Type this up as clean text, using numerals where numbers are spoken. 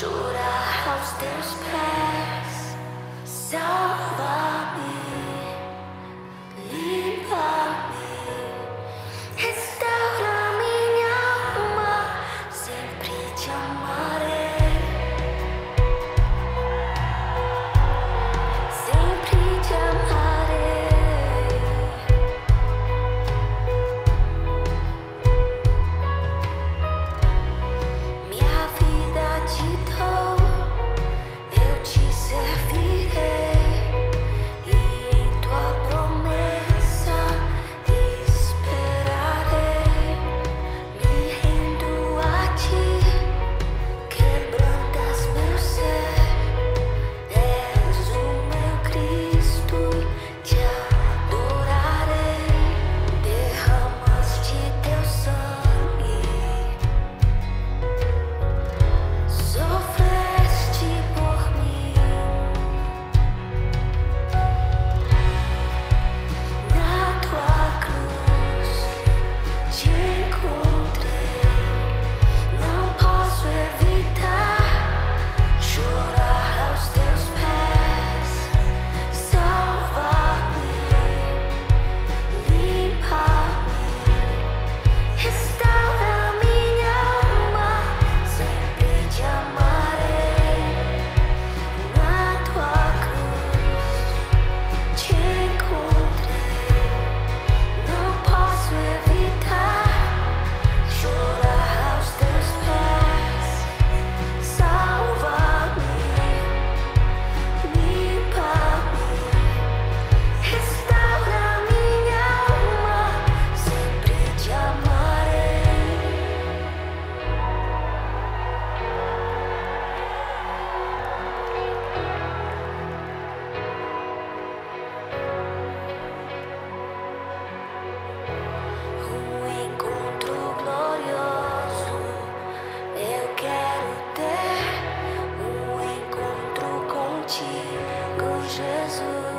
chorar aos teus pés. Salva-me, limpa-me, restaura minha alma, sempre te amarei, sempre te amarei. Minha vida te dou, eu te servirei, e em tua promessa esperarei. Me rendo a ti, quebrantas meu ser, és o meu Cristo, te adorarei. Derramaste teu sangue, sofreste por mim, na tua cruz te encontrei. Não posso evitar chorar aos teus pés. Salva-me, limpa-me, restaura minha alma, sempre te amarei. Na tua cruz te encontrei. Não posso evitar chorar aos teus pés. Salva-me, limpa-me, restaura minha alma, sempre te amarei. Encontro glorioso eu quero ter, encontro contigo, Jesus.